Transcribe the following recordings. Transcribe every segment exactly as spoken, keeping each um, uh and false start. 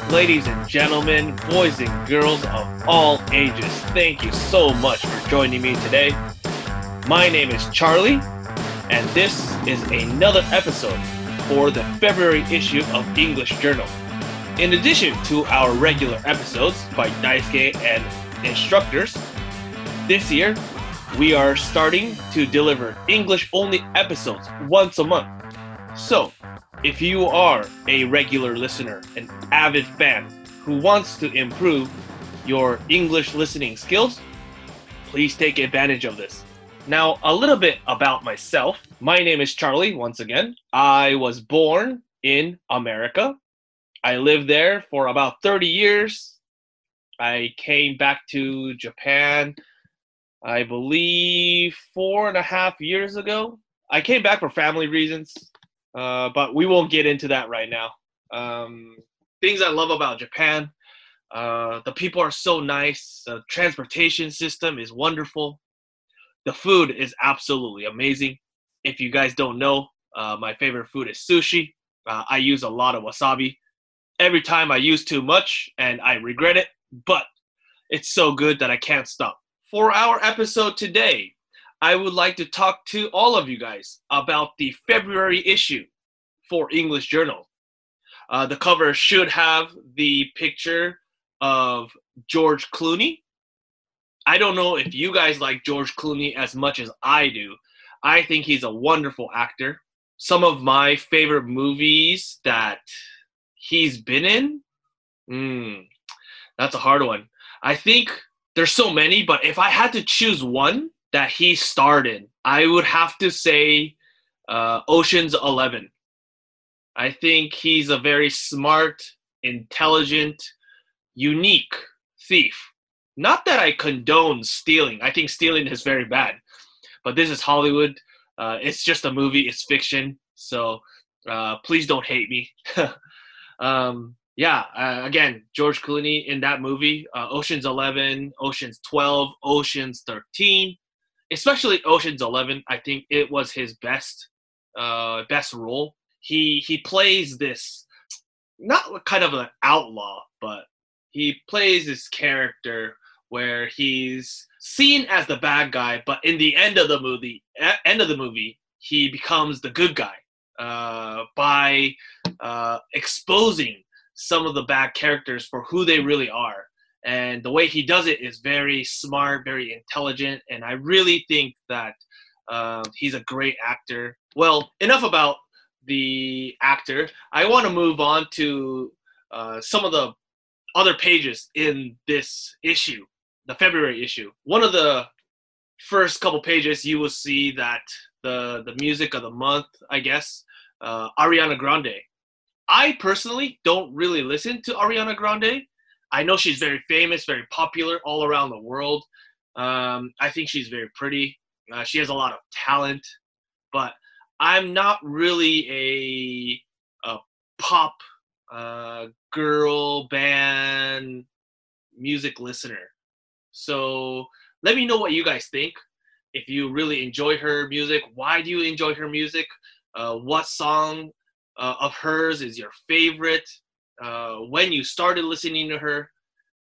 Ladies and gentlemen, boys and girls of all ages, thank you so much for joining me today. My name is Charlie, and this is another episode for the February issue of English Journal. In addition to our regular episodes by Daisuke and instructors, this year we are starting to deliver English-only episodes once a month. So, if you are a regular listener, an avid fan who wants to improve your English listening skills, please take advantage of this. Now, a little bit about myself. My name is Charlie, once again. I was born in America. I lived there for about thirty years. I came back to Japan, I believe, four and a half years ago. I came back for family reasons. Uh, but we won't get into that right now. Um, things I love about Japan, uh, the people are so nice. The transportation system is wonderful. The food is absolutely amazing. If you guys don't know, uh, my favorite food is sushi. Uh, I use a lot of wasabi. Every time I use too much, and I regret it, but it's so good that I can't stop. For our episode today, I would like to talk to all of you guys about the February issue for English Journal. Uh, the cover should have the picture of George Clooney. I don't know if you guys like George Clooney as much as I do. I think he's a wonderful actor. Some of my favorite movies that he's been in, mm, that's a hard one. I think there's so many, but if I had to choose one that he starred in, I would have to say uh, Ocean's Eleven. I think he's a very smart, intelligent, unique thief. Not that I condone stealing. I think stealing is very bad. But this is Hollywood. Uh, it's just a movie. It's fiction. So uh, please don't hate me. um, yeah, uh, again, George Clooney in that movie, uh, Ocean's Eleven, Ocean's twelve, Ocean's thirteen. Especially Ocean's Eleven, I think it was his best, uh, best role. He he plays this, not kind of an outlaw, but he plays this character where he's seen as the bad guy, but in the end of the movie, end of the movie, he becomes the good guy uh, by uh, exposing some of the bad characters for who they really are. And the way he does it is very smart, very intelligent, and I really think that uh, he's a great actor. Well, enough about the actor. I want to move on to uh, some of the other pages in this issue, the February issue. One of the first couple pages, you will see that the, the music of the month, I guess, uh, Ariana Grande. I personally don't really listen to Ariana Grande. I know she's very famous, very popular all around the world. Um, I think she's very pretty. Uh, she has a lot of talent, but I'm not really a, a pop uh, girl band music listener. So let me know what you guys think. If you really enjoy her music, why do you enjoy her music? Uh, what song uh, of hers is your favorite? Uh, when you started listening to her.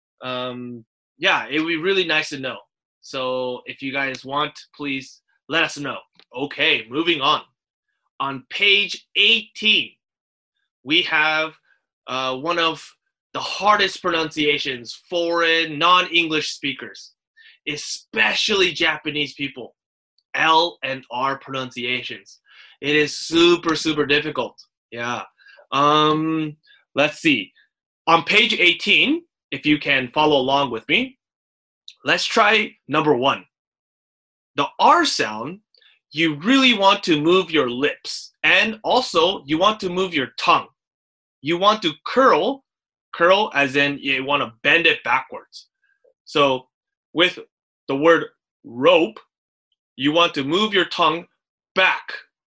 Um, yeah, it would be really nice to know. So if you guys want, please let us know. Okay, moving on. On page eighteen, we have uh, one of the hardest pronunciations foreign, non-English speakers, especially Japanese people. L and R pronunciations. It is super, super difficult. Yeah. Um... Let's see. On page eighteen, if you can follow along with me, let's try number one. The R sound, you really want to move your lips, and also you want to move your tongue. You want to curl, curl as in you want to bend it backwards. So with the word rope, you want to move your tongue back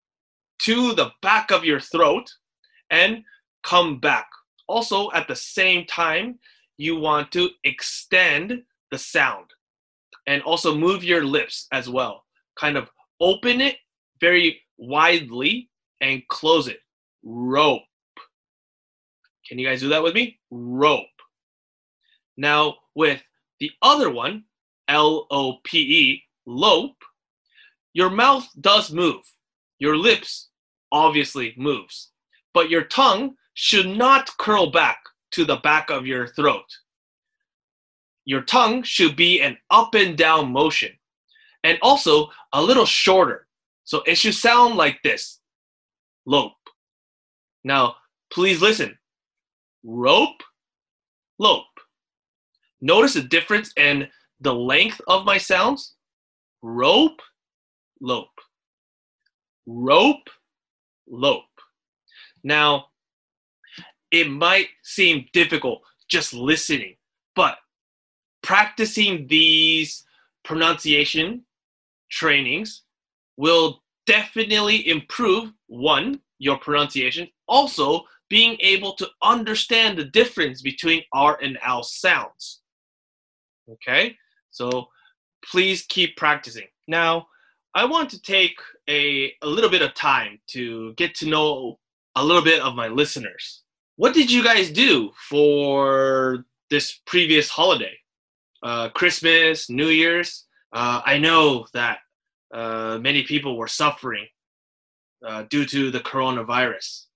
to the back of your throat and come back. Also, at the same time, you want to extend the sound and also move your lips as well. Kind of open it very widely and close it. Rope. Can you guys do that with me? Rope. Now, with the other one, L O P E, lope, your mouth does move. Your lips obviously moves. But your tongue should not curl back to the back of your throat. Your tongue should be an up and down motion. And also a little shorter. So it should sound like this. Lope. Now, please listen. Rope, lope. Notice the difference in the length of my sounds. Rope, lope. Rope, lope. Now, it might seem difficult just listening, but practicing these pronunciation trainings will definitely improve, one, your pronunciation, also being able to understand the difference between R and L sounds. Okay, so please keep practicing. Now, I want to take a, a little bit of time to get to know a little bit of my listeners. What did you guys do for this previous holiday? Uh, Christmas, New Year's? Uh, I know that uh, many people were suffering uh, due to the coronavirus.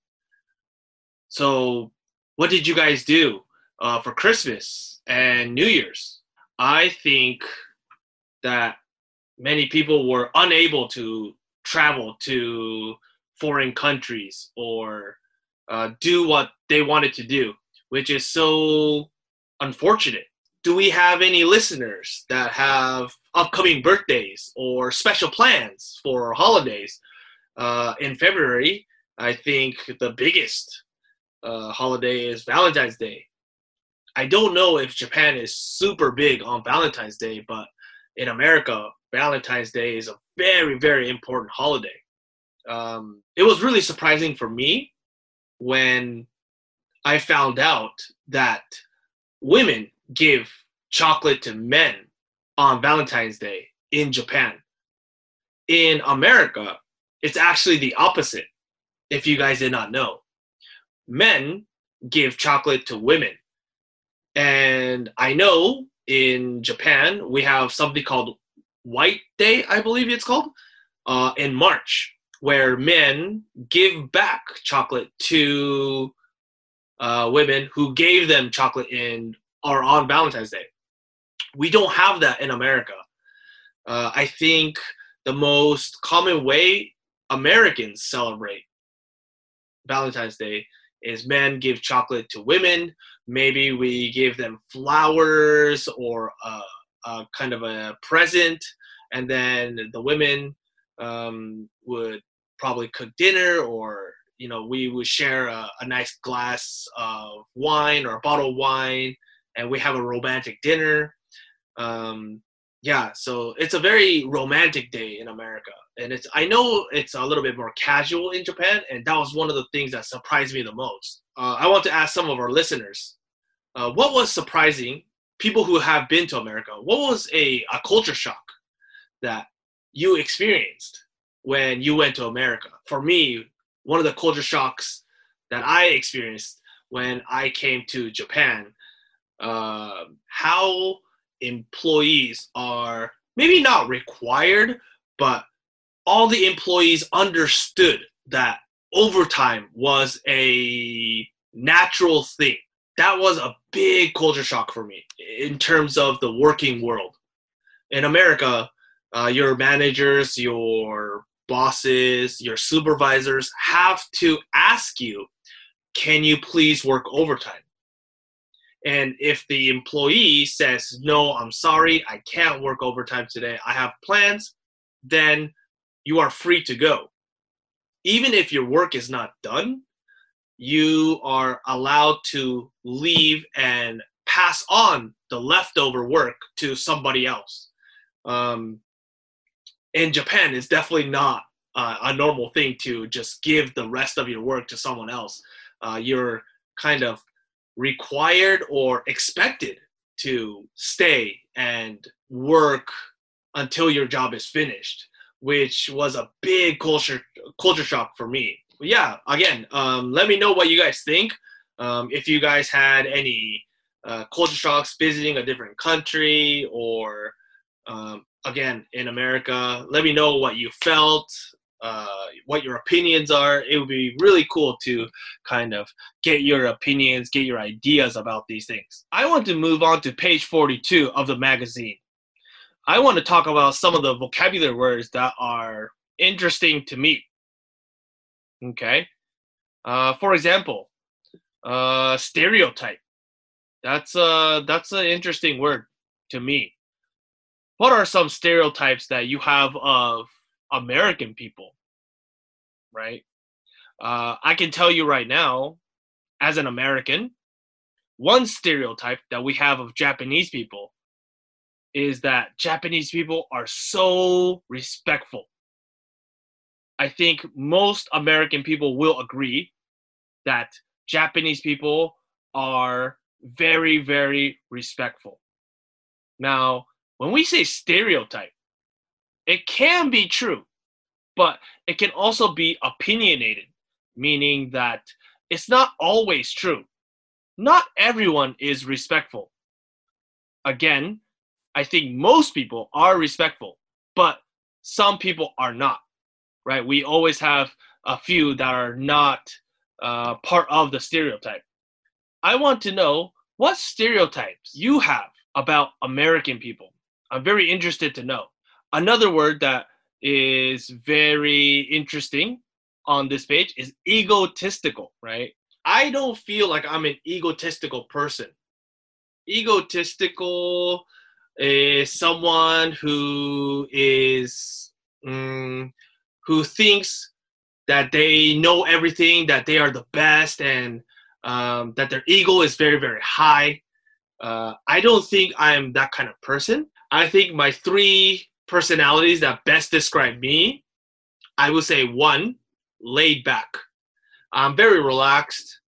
So what did you guys do uh, for Christmas and New Year's? I think that many people were unable to travel to foreign countries or uh, do what they wanted to do, which is so unfortunate. Do we have any listeners that have upcoming birthdays or special plans for holidays? Uh, in February, I think the biggest uh, holiday is Valentine's Day. I don't know if Japan is super big on Valentine's Day, but in America, Valentine's Day is a very, very important holiday. Um, it was really surprising for me when I found out that women give chocolate to men on Valentine's Day in Japan. In America, it's actually the opposite, if you guys did not know. Men give chocolate to women. And I know in Japan, we have something called White Day, I believe it's called, uh, in March, where men give back chocolate to uh, women who gave them chocolate in or on Valentine's Day. We don't have that in America. Uh, I think the most common way Americans celebrate Valentine's Day is men give chocolate to women. Maybe we give them flowers or a, a kind of a present, and then the women um, would probably cook dinner, or you know, we would share a, a nice glass of wine or a bottle of wine, and we have a romantic dinner. Um, yeah, so it's a very romantic day in America, and it's I know it's a little bit more casual in Japan, and that was one of the things that surprised me the most. Uh, I want to ask some of our listeners, uh, what was surprising, people who have been to America, what was a, a culture shock that you experienced when you went to America? For me, one of the culture shocks that I experienced when I came to Japan, uh, how employees are maybe not required, but all the employees understood that overtime was a natural thing. That was a big culture shock for me in terms of the working world. In America, uh, your managers, your bosses, your supervisors have to ask you, can you please work overtime? And if the employee says, no, I'm sorry, I can't work overtime today, I have plans, then you are free to go. Even if your work is not done, you are allowed to leave and pass on the leftover work to somebody else. Um, in Japan, it's definitely not uh, a normal thing to just give the rest of your work to someone else. Uh, you're kind of required or expected to stay and work until your job is finished, which was a big culture culture shock for me. But yeah, again, um, let me know what you guys think. Um, if you guys had any uh, culture shocks visiting a different country or, um, again, in America, let me know what you felt, uh, what your opinions are. It would be really cool to kind of get your opinions, get your ideas about these things. I want to move on to page forty-two of the magazine. I want to talk about some of the vocabulary words that are interesting to me. Okay. Uh, for example, uh, stereotype. That's uh that's an interesting word to me. What are some stereotypes that you have of American people, right? Uh, I can tell you right now, as an American, one stereotype that we have of Japanese people is that Japanese people are so respectful. I think most American people will agree that Japanese people are very, very respectful. Now, when we say stereotype, it can be true, but it can also be opinionated, meaning that it's not always true. Not everyone is respectful. Again, I think most people are respectful, but some people are not, right? We always have a few that are not uh, part of the stereotype. I want to know what stereotypes you have about American people. I'm very interested to know. Another word that is very interesting on this page is egotistical, right? I don't feel like I'm an egotistical person. Egotistical is someone who is um, who thinks that they know everything, that they are the best, and um, that their ego is very, very high. Uh, I don't think I'm that kind of person. I think my three personalities that best describe me, I would say one, laid back. I'm very relaxed.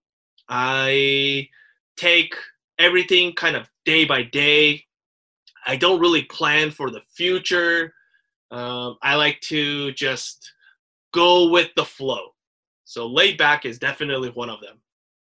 I take everything kind of day by day. I don't really plan for the future. Um, I like to just go with the flow. So laid back is definitely one of them.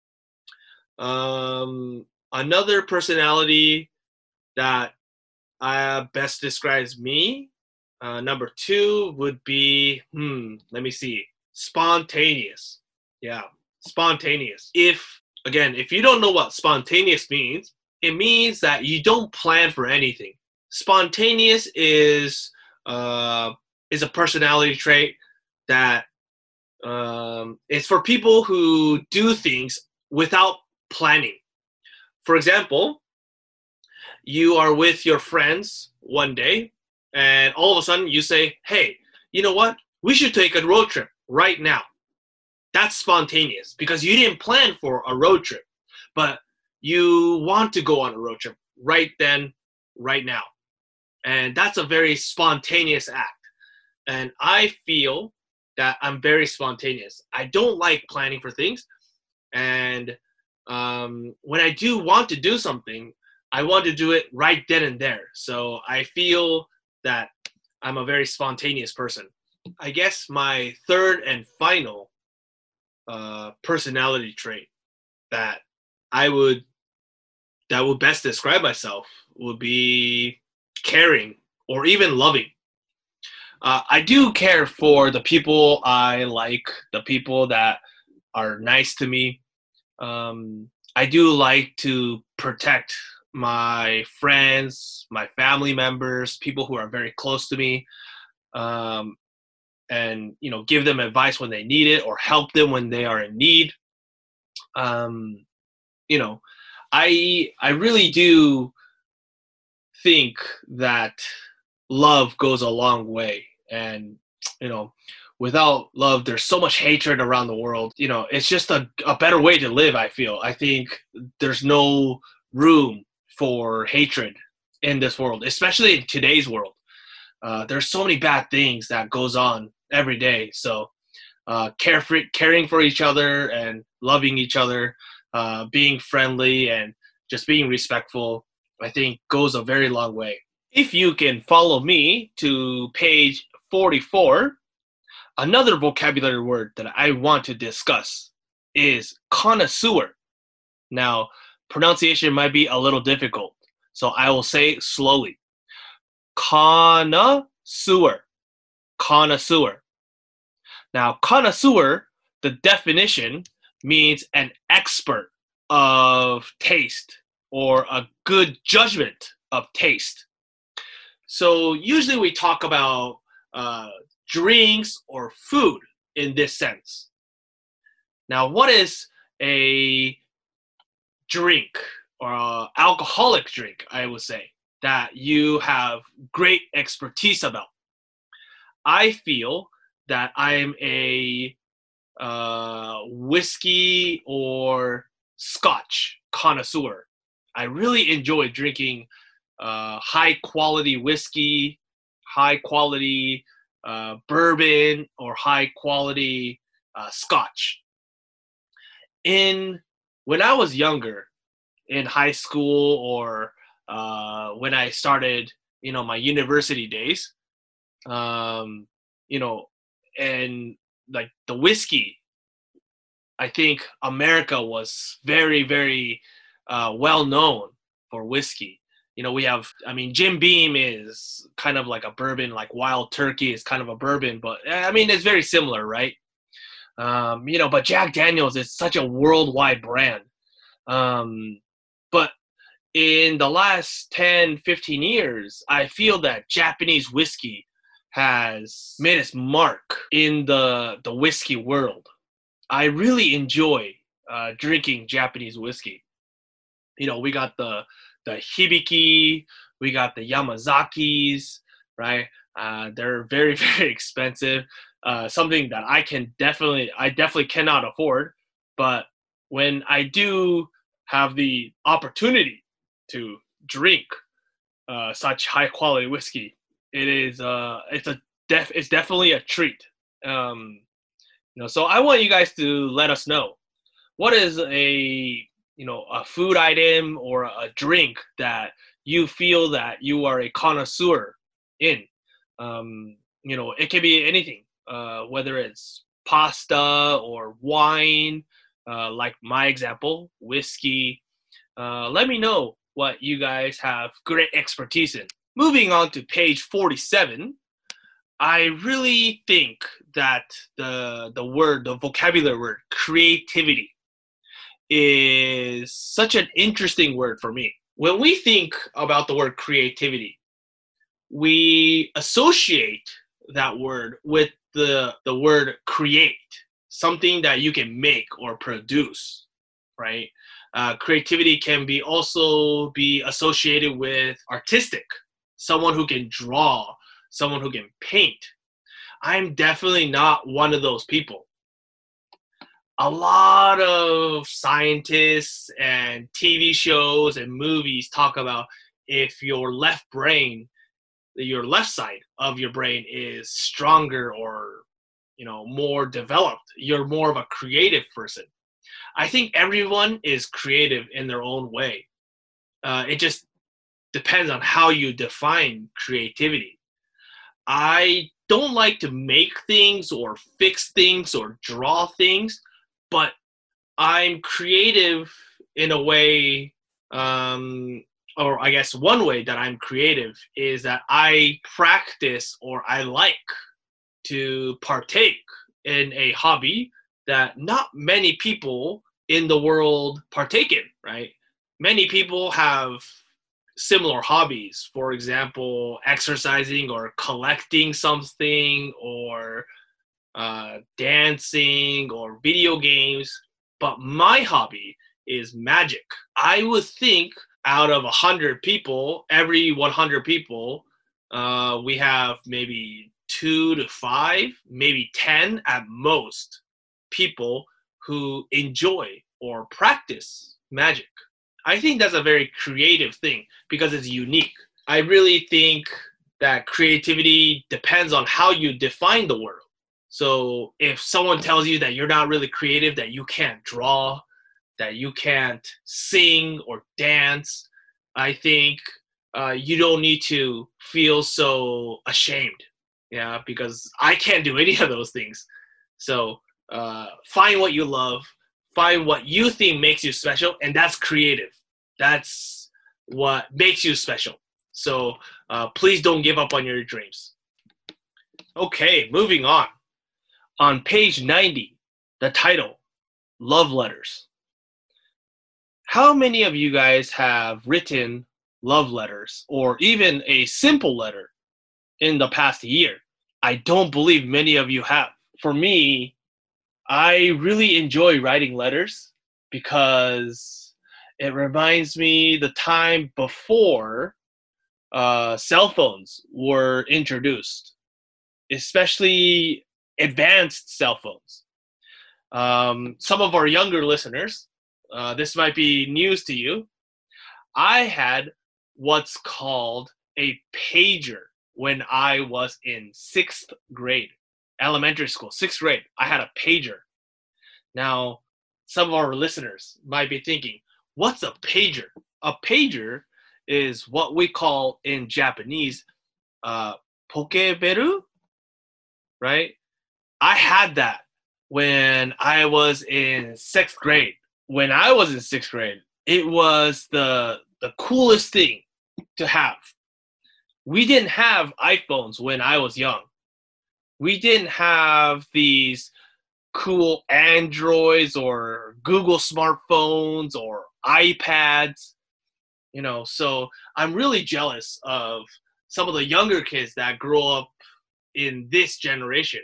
Um, another personality that uh, best describes me, uh, number two would be, hmm, let me see, spontaneous. Yeah, spontaneous. If, again, if you don't know what spontaneous means, it means that you don't plan for anything. Spontaneous is uh, is a personality trait that um, is for people who do things without planning. For example, you are with your friends one day, and all of a sudden you say, hey, you know what? We should take a road trip right now. That's spontaneous because you didn't plan for a road trip, but you want to go on a road trip right then, right now. And that's a very spontaneous act. And I feel that I'm very spontaneous. I don't like planning for things. And um, when I do want to do something, I want to do it right then and there. So I feel that I'm a very spontaneous person. I guess my third and final uh, personality trait that I would that would best describe myself would be caring or even loving. Uh, I do care for the people I like, the people that are nice to me. Um, I do like to protect my friends, my family members, people who are very close to me, um, and you know, give them advice when they need it or help them when they are in need. Um, you know, I I really do think that love goes a long way, and you know, without love, there's so much hatred around the world. You know, it's just a, a better way to live. I feel. I think there's no room for hatred in this world, especially in today's world. Uh, there's so many bad things that goes on every day. So, uh, care for, caring for each other and loving each other, uh, being friendly and just being respectful, I think goes a very long way. If you can follow me to page forty-four, another vocabulary word that I want to discuss is connoisseur. Now, pronunciation might be a little difficult, so I will say slowly. Connoisseur. Connoisseur. Now, connoisseur, the definition means an expert of taste or a good judgment of taste. So usually we talk about uh, drinks or food in this sense. Now, what is a drink or a alcoholic drink, I would say, that you have great expertise about? I feel that I'm a uh, whiskey or scotch connoisseur. I really enjoy drinking uh, high quality whiskey, high quality uh, bourbon, or high quality uh, scotch. In when I was younger, in high school or uh, when I started, you know, my university days, um, you know, and like the whiskey, I think America was very, very uh, well known for whiskey. You know, we have, I mean, Jim Beam is kind of like a bourbon, like Wild Turkey is kind of a bourbon, but I mean, it's very similar, right? Um, you know, but Jack Daniels is such a worldwide brand. Um, but in the last ten, fifteen years, I feel that Japanese whiskey has made its mark in the, the whiskey world. I really enjoy uh, drinking Japanese whiskey. You know, we got the the Hibiki, we got the Yamazakis, right? Uh, they're very, very expensive. Uh, something that I can definitely, I definitely cannot afford. But when I do have the opportunity to drink uh, such high quality whiskey, it is, uh, it's a def, it's definitely a treat. Um, you know, so I want you guys to let us know, what is a, you know, a food item or a drink that you feel that you are a connoisseur in. Um, you know, it can be anything, uh, whether it's pasta or wine, uh, like my example, whiskey. Uh, let me know what you guys have great expertise in. Moving on to page forty-seven, I really think that the the word, the vocabulary word, creativity, is such an interesting word for me. When we think about the word creativity, we associate that word with the, the word create, something that you can make or produce, right? Uh, creativity can be also be associated with artistic, someone who can draw, someone who can paint. I'm definitely not one of those people. A lot of scientists and T V shows and movies talk about if your left brain, your left side of your brain is stronger or, you know, more developed, you're more of a creative person. I think everyone is creative in their own way. Uh, it just depends on how you define creativity. I don't like to make things or fix things or draw things, but I'm creative in a way, um, or I guess one way that I'm creative is that I practice or I like to partake in a hobby that not many people in the world partake in, right? Many people have similar hobbies, for example, exercising or collecting something or uh, dancing or video games, but my hobby is magic. I would think out of one hundred people, every one hundred people, uh, we have maybe two to five, maybe ten at most people who enjoy or practice magic. I think that's a very creative thing because it's unique. I really think that creativity depends on how you define the word. So if someone tells you that you're not really creative, that you can't draw, that you can't sing or dance, I think uh, you don't need to feel so ashamed. Yeah, because I can't do any of those things. So uh, find what you love, Find what you think makes you special, and that's creative. That's what makes you special. So uh, please don't give up on your dreams. Okay, moving on. On page ninety, the title, Love Letters. How many of you guys have written love letters or even a simple letter in the past year? I don't believe many of you have. For me, I really enjoy writing letters because it reminds me the time before uh, cell phones were introduced, especially advanced cell phones. Um, some of our younger listeners, uh, this might be news to you. I had what's called a pager when I was in sixth grade, elementary school, sixth grade. I had a pager. Now, some of our listeners might be thinking, what's a pager? A pager is what we call in Japanese, uh, pokeberu, right? I had that when I was in sixth grade. When I was in sixth grade, it was the the coolest thing to have. We didn't have iPhones when I was young. We didn't have these cool Androids or Google smartphones or iPads, you know, so I'm really jealous of some of the younger kids that grow up in this generation.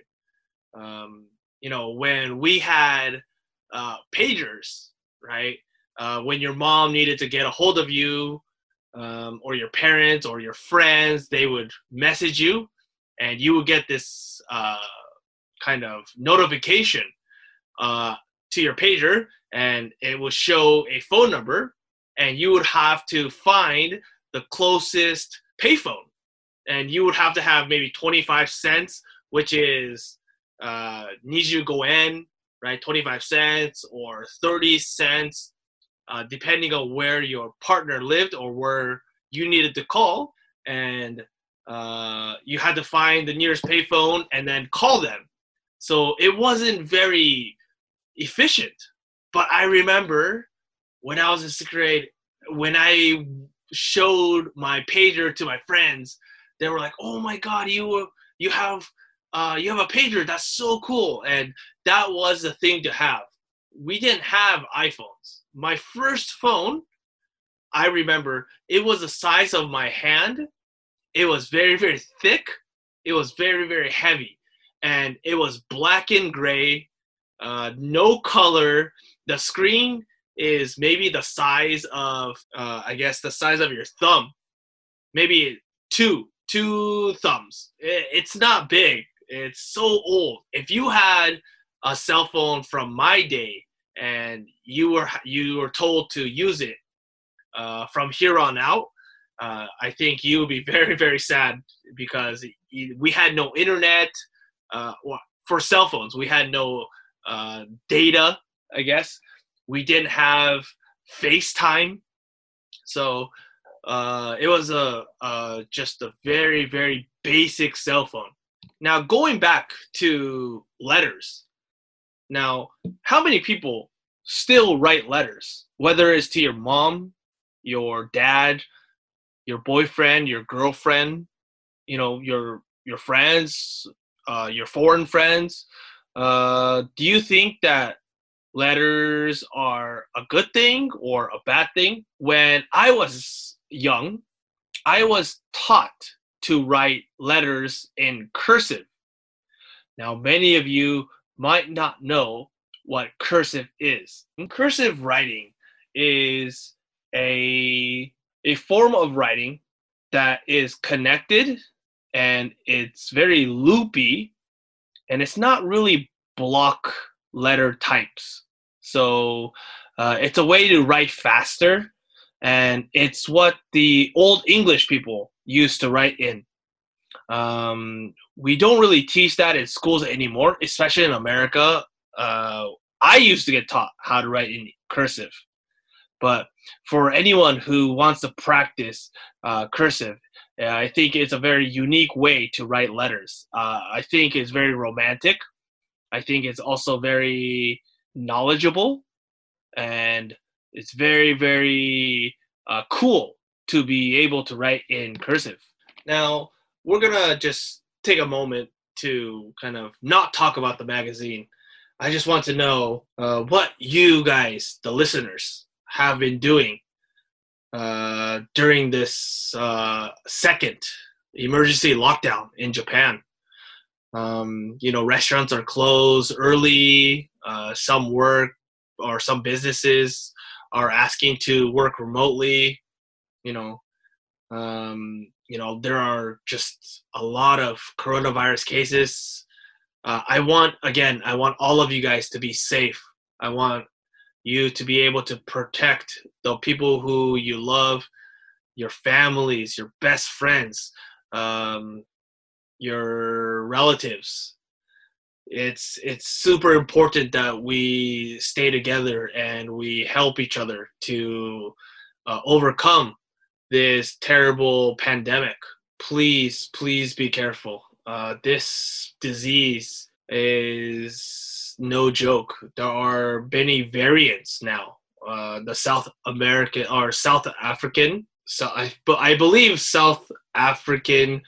Um, you know, when we had uh, pagers, right? Uh, when your mom needed to get a hold of you, um, or your parents or your friends, they would message you, and you would get this uh, kind of notification uh, to your pager, and it would show a phone number, and you would have to find the closest payphone, and you would have to have maybe twenty-five cents, which is uh, niju goen, right? twenty-five cents or thirty cents, uh, depending on where your partner lived or where you needed to call, and uh, you had to find the nearest payphone and then call them. So it wasn't very efficient. But I remember when I was in sixth grade, when I showed my pager to my friends, they were like, "Oh my God, you you have uh, you have a pager. That's so cool!" And that was the thing to have. We didn't have iPhones. My first phone, I remember, it was the size of my hand. It was very, very thick. It was very, very heavy. And it was black and gray, uh, no color. The screen is maybe the size of, uh, I guess, the size of your thumb. Maybe two, two thumbs. It, it's not big. It's so old. If you had a cell phone from my day and you were you were told to use it uh, from here on out, uh, I think you would be very, very sad because we had no internet. Uh, well, for cell phones, we had no uh, data, I guess. We didn't have FaceTime. So uh, it was a, a just a very, very basic cell phone. Now, going back to letters. Now, how many people still write letters, whether it's to your mom, your dad, your boyfriend, your girlfriend, you know, your your friends, uh, your foreign friends? Uh, do you think that letters are a good thing or a bad thing? When I was young, I was taught to write letters in cursive. Now, many of you might not know what cursive is. Cursive writing is a, a form of writing that is connected, and it's very loopy, and it's not really block letter types. So uh, it's a way to write faster, and it's what the old English people used to write in. Um, we don't really teach that in schools anymore, especially in America. Uh, I used to get taught how to write in cursive. But for anyone who wants to practice uh, cursive, uh, I think it's a very unique way to write letters. Uh, I think it's very romantic. I think it's also very knowledgeable. and it's very, very uh, cool to be able to write in cursive. Now, we're gonna just take a moment to kind of not talk about the magazine. I just want to know uh, what you guys, the listeners, have been doing uh, during this uh, second emergency lockdown in Japan. Um, you know, restaurants are closed early. Uh, some work or some businesses are asking to work remotely. You know, um, you know, there are just a lot of coronavirus cases. Uh, I want, again, I want all of you guys to be safe. I want you to be able to protect the people who you love, your families, your best friends, um, your relatives. It's it's super important that we stay together and we help each other to uh, overcome this terrible pandemic. Please, please be careful. Uh, this disease is no joke. There are many variants now. Uh, the South American or South African, so I, but I believe South African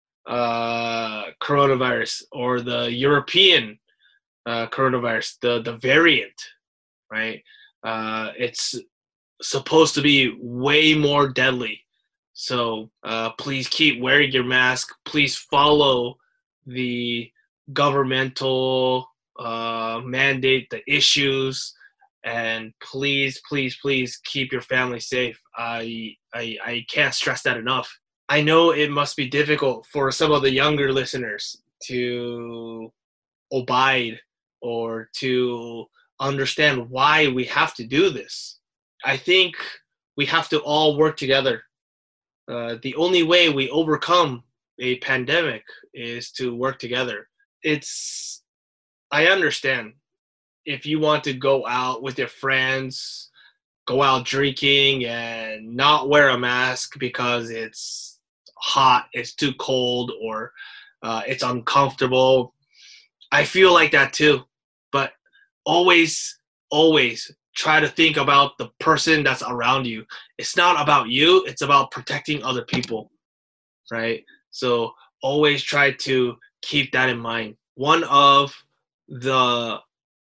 uh, coronavirus or the European uh, coronavirus, the, the variant, right? Uh, it's supposed to be way more deadly. So uh, please keep wearing your mask. Please follow the governmental uh, mandate, the issues, and please, please, please keep your family safe. I, I, I can't stress that enough. I know it must be difficult for some of the younger listeners to abide or to understand why we have to do this. I think we have to all work together. Uh, the only way we overcome a pandemic is to work together. It's, I understand if you want to go out with your friends, go out drinking and not wear a mask because it's hot, it's too cold, or uh, it's uncomfortable. I feel like that too. But always, always try to think about the person that's around you. It's not about you, it's about protecting other people, right? So always try to keep that in mind. One of the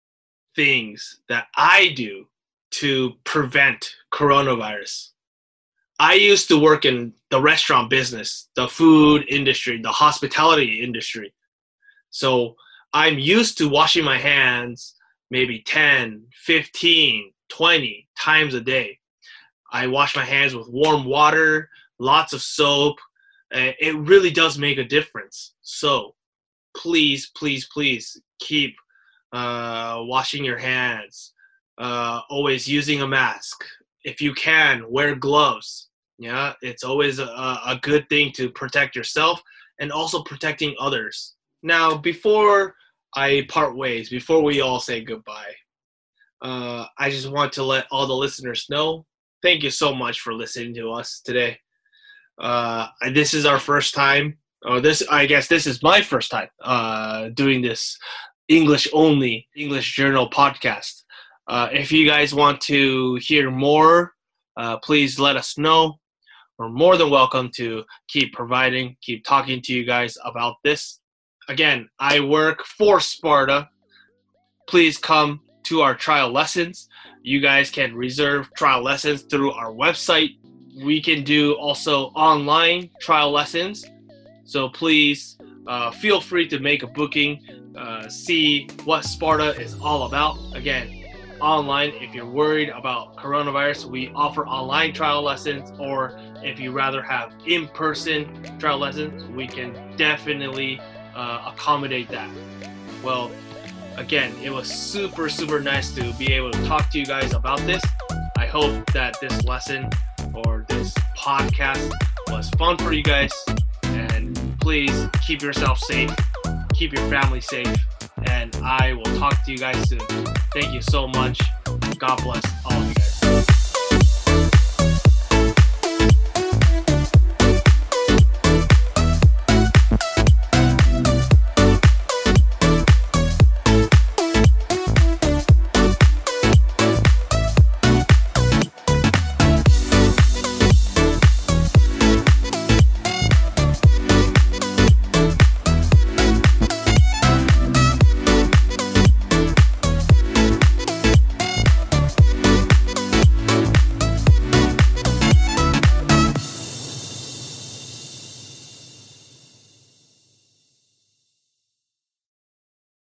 things that I do to prevent coronavirus, I used to work in the restaurant business, the food industry, the hospitality industry. So I'm used to washing my hands maybe ten, fifteen, twenty times a day. I wash my hands with warm water, lots of soap. Uh, it really does make a difference. So please, please, please keep uh, washing your hands, uh, always using a mask. If you can, wear gloves. Yeah, it's always a, a good thing to protect yourself and also protecting others. Now, before I part ways, before we all say goodbye, uh, I just want to let all the listeners know, thank you so much for listening to us today. Uh, this is our first time, or this, I guess this is my first time uh, doing this English only English Journal podcast. Uh, if you guys want to hear more, uh, please let us know. We're more than welcome to keep providing, keep talking to you guys about this. Again, I work for Sparta. Please come to our trial lessons. You guys can reserve trial lessons through our website. We can do also online trial lessons. So please uh, feel free to make a booking, uh, see what Sparta is all about. Again, online, if you're worried about coronavirus, we offer online trial lessons, or if you rather have in-person trial lessons, we can definitely uh, accommodate that. Well, again, it was super, super nice to be able to talk to you guys about this. I hope that this lesson or this podcast was fun for you guys, and please keep yourself safe, keep your family safe, and I will talk to you guys soon. Thank you so much. God bless all of you guys.